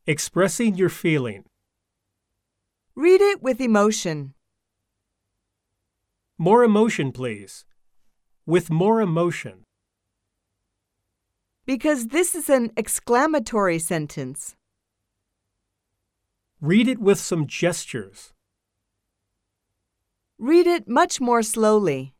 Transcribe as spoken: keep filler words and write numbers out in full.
Expressing your feeling. Read it with emotion. More emotion, please. With more emotion. Because this is an exclamatory sentence. Read it with some gestures. Read it much more slowly.